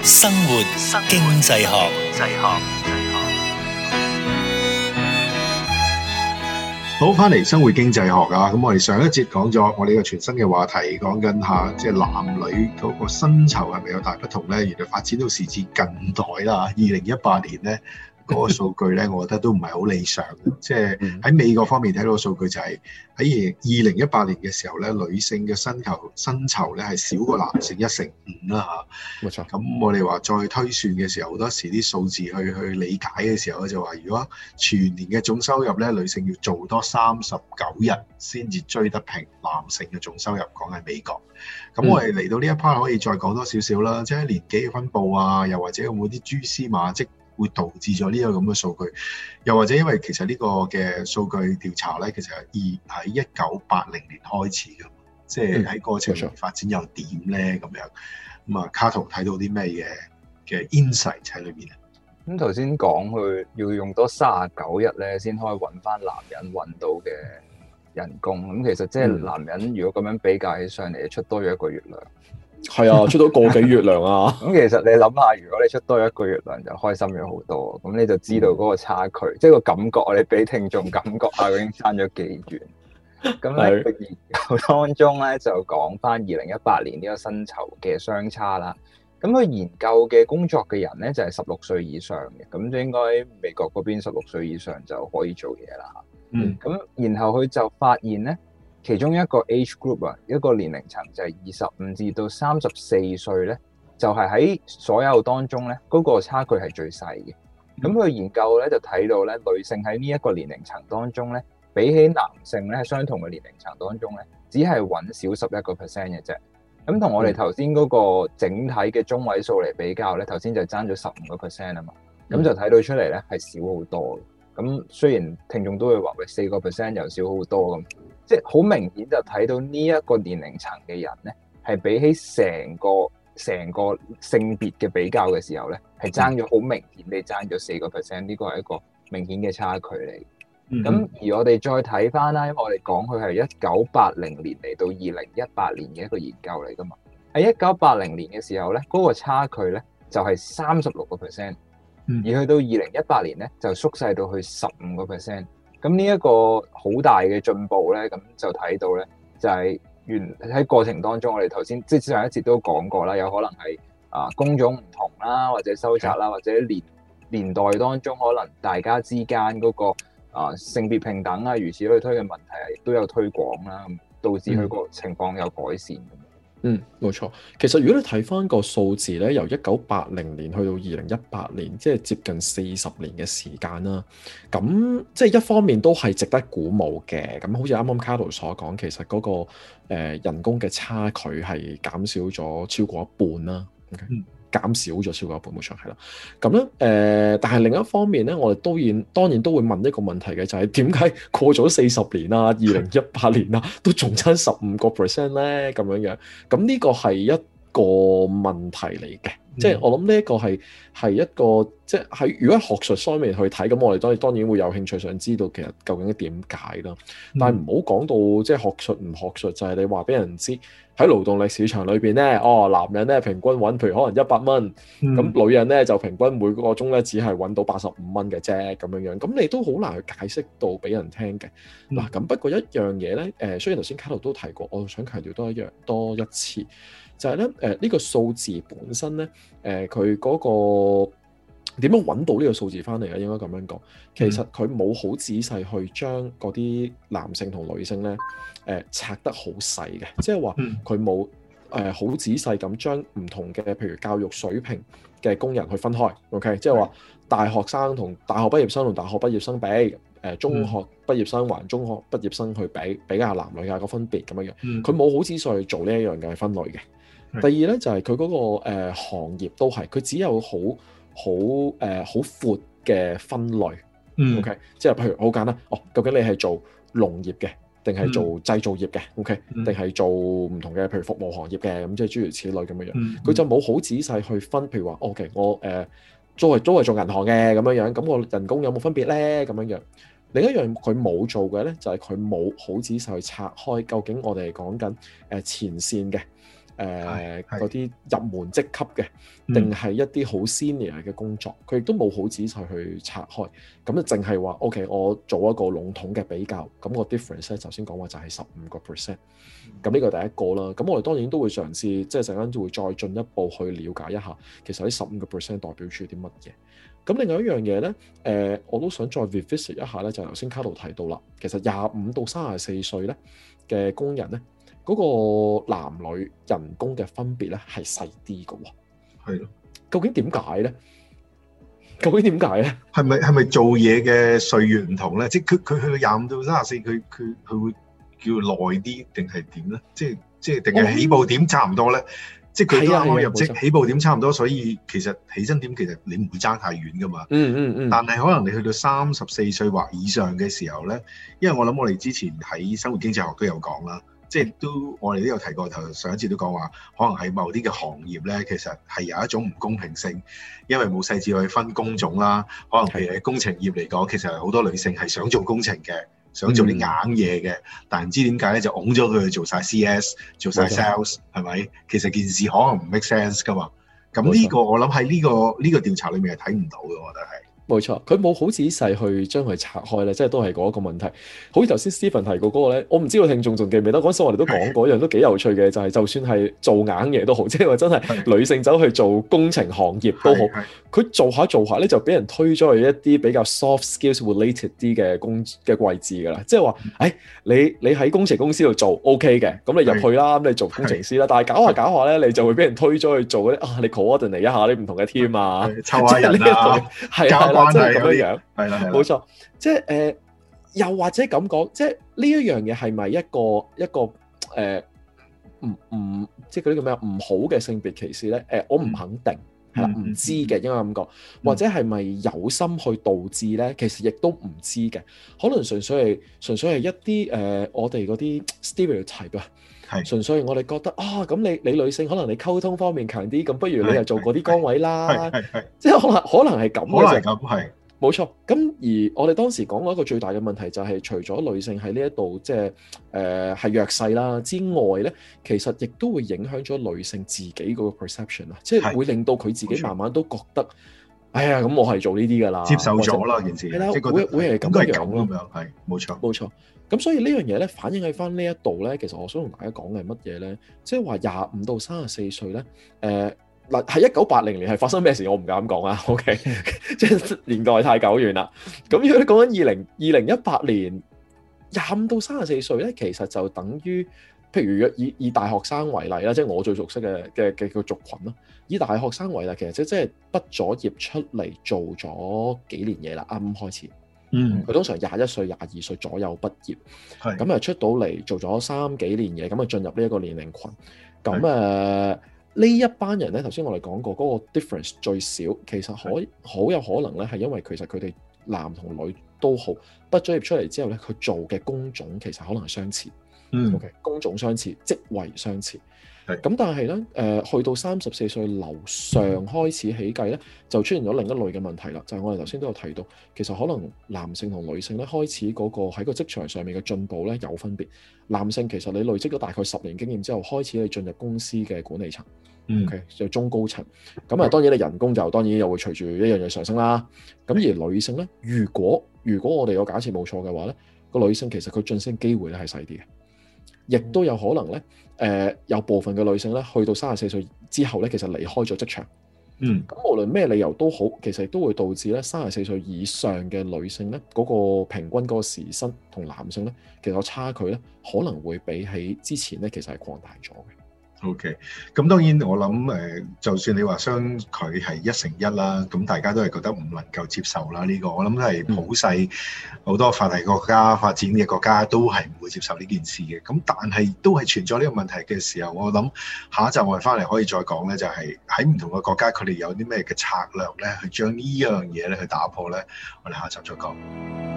生活經濟學， 好，翻嚟生活經濟學啊！咁我哋上一節講咗我哋個全新嘅話題，講緊下即係男女嗰個薪酬係咪有大不同咧？原來發展到時至近代啦，2018年咧。嗰個數據咧，我覺得都唔係好理想嘅。即係喺美國方面睇到個數據就係喺2018年嘅時候咧，女性嘅薪酬咧係少過男性1/5啦嚇。冇錯。咁我哋話再推算嘅時候，好多時啲數字去理解嘅時候咧，就話如果全年嘅總收入咧，女性要做多39日先至追得平男性嘅總收入，講係美國。咁我哋嚟到呢一 part 可以再講多少少啦，即係年紀嘅分佈啊，又或者有冇啲蛛絲馬跡會導致咗呢個咁嘅數據，又或者因為其實呢個嘅數據調查咧，其實喺1980年開始嘅，即係喺過程發展又點咧咁樣。咁啊，卡圖睇到啲咩嘅 insight 喺裏面啊？ 咁頭先講佢要用多39日咧，先可以揾翻男人揾到嘅人工。咁其實即係男人如果咁樣比較起上嚟，出多咗1個月糧。 係啊，出到個幾月糧啊！ 咁其實你諗下，如果你出多1個月糧，就開心咗好多。咁你就知道嗰個差距，即係個感覺，我哋俾聽眾感覺下，已經差咗幾遠。咁喺個研究當中咧，就講翻2018年呢個薪酬嘅相差啦。咁佢研究嘅工作嘅人咧，就係16歲以上嘅，咁就應該美國嗰邊16歲以上就可以做嘢啦。咁然後佢就發現咧。其中一個 age group 啊，一個年齡層就係25至到34歲咧，就係喺所有當中咧，嗰個差距係最細嘅。咁佢研究咧就睇到咧，女性喺呢一個年齡層當中咧，比起男性咧，喺相同嘅年齡層當中咧，只係揾少11% 嘅啫。咁同我哋頭先嗰個整體嘅中位數嚟比較咧，頭先就爭咗15% 啊嘛，咁就睇到出嚟咧係少好多嘅。咁雖然聽眾都會話喂4% 又少好多咁。即係好明顯就睇到呢一個年齡層嘅人咧，係比起成個性別嘅比較嘅時候咧，係爭咗好明顯地爭咗4%，呢個係一個明顯嘅差距嚟。咁而我哋再睇翻啦，因為我哋講佢係1980年嚟到2018年嘅一個研究嚟噶嘛。喺1980年嘅時候咧，嗰個差距咧就係36%，而去到2018年咧就縮細到去15%。咁呢一個好大嘅進步咧，咁就睇到咧，就係喺過程當中，我哋頭先即係上一節都講過啦，有可能係工種唔同啦，或者收窄啦，或者年代當中可能大家之間嗰個性別平等啊，如此類推嘅問題亦都有推廣啦，導致佢個情況有改善。 冇錯。其實如果你睇翻個數字咧，由1980年去到2018年，即係接近40年嘅時間啦。咁即係一方面都係值得鼓舞嘅。咁好似啱啱卡圖所講，其實嗰個人工嘅差距係減少咗超過一半啦。減少咗超過一半，冇錯，係啦。咁咧但係另一方面咧，我哋當然都會問一個問題嘅，就係點解過咗40年啦，2018年啦，都仲差15% 咧？咁樣。咁呢個係一個問題嚟嘅。即係我諗呢一個係一個即係喺如果學術方面去睇，咁我哋當然會有興趣想知道其實究竟點解啦。但係唔好講到即係學術唔學術，就係你話俾人知喺勞動力市場裏邊咧，男人咧平均揾譬如可能100蚊，咁女人咧就平均每個鐘咧只係揾到85蚊嘅啫咁樣。咁你都好難去解釋到俾人聽嘅。嗱，咁不過一樣嘢咧，雖然頭先卡圖都提過，我想強調多一次。就係咧，呢個數字本身咧，佢嗰個點樣揾到呢個數字翻嚟咧？應該咁樣講，其實佢冇好仔細去將嗰啲男性同女性咧，拆得好細嘅，即係話佢冇好仔細咁將唔同嘅譬如教育水平嘅工人去分開。OK， 即係話大學生同大學畢業生同大學畢業生比。中學畢業生還中學畢業生去比較男女嘅個分別咁樣。佢冇好仔細去做呢一樣嘅分類嘅。第二咧就係佢嗰個行業都係，佢只有好闊嘅分類。OK， 即係譬如好簡單，究竟你係做農業嘅，定係做製造業嘅 ？OK， 定係做唔同嘅，譬如服務行業嘅，咁即係諸如此類咁樣。佢就冇好仔細去分，譬如話 OK， 我都係做銀行嘅咁樣，咁我人工有冇分別咧？咁樣。另一樣佢冇做嘅咧，就係佢冇好仔細去拆開，究竟我哋係講緊前線嘅嗰啲入門職級嘅，定係一啲好 senior 嘅工作，佢亦都冇好仔細去拆開，咁就淨係話 OK，我做一個籠統嘅比較，咁個 difference 咧，頭先講話就係15%，咁呢個第一個啦。咁我哋當然都會嘗試，即係陣間都會再進一步去了解一下，其實呢15%代表住啲乜嘢。咁另外一樣嘢咧，我都想再 revisit 一下咧，就係頭先卡路提到啦，其實25到34歲咧嘅工人咧，嗰個男女人工嘅分別咧係細啲嘅喎。 係咯， 究竟點解咧？係咪做嘢嘅歲月唔同咧？即係佢去到25到34，佢會叫耐啲定係點咧？即係定係起步點差唔多咧？即係佢啱啱入職，起步點差唔多，所以其實起薪點其實你唔會爭太遠噶嘛。但係可能你去到34歲或以上嘅時候咧，因為我諗我哋之前喺生活經濟學都有講啦，即係我哋都有提過，頭上一次都講話，可能喺某啲嘅行業咧，其實係有一種唔公平性，因為冇細緻去分工種啦。可能譬如喺工程業嚟講，其實好多女性係想做工程嘅。想做啲硬嘢嘅，但唔知點解咧就拱咗佢去做晒 CS， 做晒 sales， 係咪？其實件事可能唔 make sense 噶嘛。咁呢個我諗喺呢個調查裏面係睇唔到嘅，我覺得係。冇錯， 佢冇好仔細去將佢拆開咧，即係都係嗰一個問題。好似頭先 Stephen 提過嗰個咧，我唔知道聽眾仲記唔記得嗰陣時我哋都講過一樣都幾有趣嘅，就係就算係做硬嘢都好，即係話真係女性走去做工程行業都好，佢做下咧就俾人推咗去一啲比較 soft skills related 啲嘅位置㗎啦。即係話，你喺工程公司度做 OK 嘅，咁你入去啦，咁你做工程師啦。但係搞下咧，你就會俾人推咗去做嗰啲你 coordinate 一下啲唔同嘅 team 啊， 湊下人啊，係啦，即係咁樣，係啦， 冇錯，即係又或者咁講，即係呢一樣嘢係咪一個即係嗰啲叫咩唔好嘅性別歧視咧？我唔肯定，係啦，唔知嘅，應該咁講，或者係咪有心去導致咧？其實亦都唔知嘅，可能純粹係一啲我哋嗰啲 stereotype 啊。純粹我哋覺得咁你女性可能你溝通方面強啲，咁不如你又做嗰啲崗位啦，即係可能係咁嘅啫。係冇錯。咁而我哋當時講過一個最大嘅問題就係，除咗女性喺呢一度即係係弱勢啦之外咧，其實亦都會影響咗女性自己嗰個 perception 啊，即係會令到佢自己慢慢都覺得，哎呀，咁我係做呢啲㗎啦，接受咗啦件事，係啦，會係咁樣咯，係冇錯。咁所以呢樣嘢咧，反映喺翻呢一度咧，其實我想同大家講嘅係乜嘢咧？即係話25到34歲咧，嗱喺1980年係發生咩事？我唔敢講啊。OK， 即係年代太久遠啦。咁如果你講緊2018年25到34歲咧，其實就等於譬如以大學生為例啦，即係我最熟悉嘅個族群啦。以大學生為例，其實即係畢咗業出嚟做咗幾年嘢啦，啱啱開始。佢通常21歲、22歲左右畢業，咁出到嚟做咗3幾年嘢，咁進入呢一個年齡群。咁呢一班人咧，頭先我哋講過嗰個 difference 最少，其實好有可能咧，係因為其實佢哋男同女都好畢咗業出嚟之後咧，佢做嘅工種其實可能係相似。OK， 工種相似，職位相似。咁但係咧，去到34歲樓上開始起計咧，就出現咗另一類嘅問題啦。就係我哋頭先都有提到，其實可能男性同女性咧開始嗰個喺個職場上面嘅進步咧有分別。男性其實你累積咗大概10年經驗之後，開始你進入公司嘅管理層，OK 就中高層。咁當然你人工就當然又會隨住一樣嘢上升啦。咁而女性咧，如果我哋個假設冇錯嘅話咧，個女性其實佢晉升機會咧係細啲嘅。亦都有可能咧，有部分嘅女性咧，去到34歲之後咧，其實離開咗職場。咁無論咩理由都好，其實亦都會導致咧34歲以上嘅女性咧，嗰個平均嗰個時薪同男性咧，其實個差距咧，可能會比起之前咧，其實係擴大咗嘅。OK， 咁當然我諗就算你話相距係1:1啦，咁大家都係覺得唔能夠接受啦。呢個我諗都係普世好多發達國家、發展嘅國家都係唔會接受呢件事嘅。咁但係都係存在呢個問題嘅時候，我諗下一集我哋翻嚟可以再講咧，就係喺唔同嘅國家佢哋有啲咩嘅策略咧，去將呢樣嘢咧去打破咧。我哋下一集再講。